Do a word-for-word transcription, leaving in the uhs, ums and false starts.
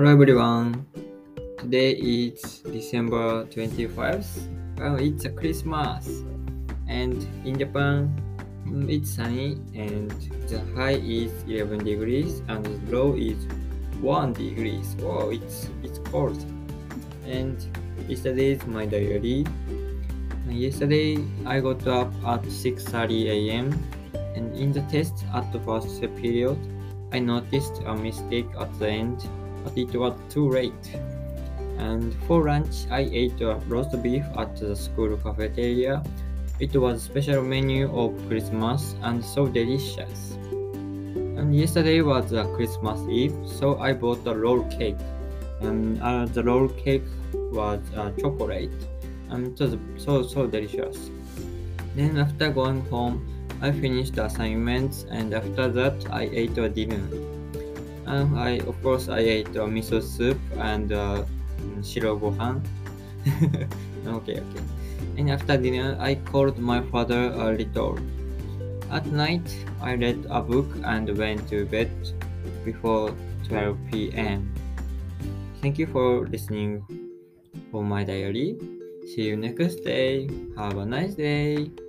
Hello everyone. Today is December twenty-fifth. Well, it's a Christmas, and in Japan, mm, it's sunny, and the high is eleven degrees, and the low is one degrees. Wow, it's it's cold. And yesterday is my diary. And yesterday I got up at six thirty a.m. and in the test at the first period, I noticed a mistake at the end, but it was too late. And for lunch, I ate a roast beef at the school cafeteria. It was a special menu of Christmas and so delicious. And yesterday was a Christmas Eve, so I bought a roll cake. And uh, the roll cake was uh, chocolate, and it was so so delicious. Then after going home, I finished the assignments, and after that, I ate a dinner. Um, I of course I ate a miso soup and uh, shiro gohan. okay, okay. And after dinner, I called my father a little. At night, I read a book and went to bed before twelve p.m. Thank you for listening for my diary. See you next day. Have a nice day.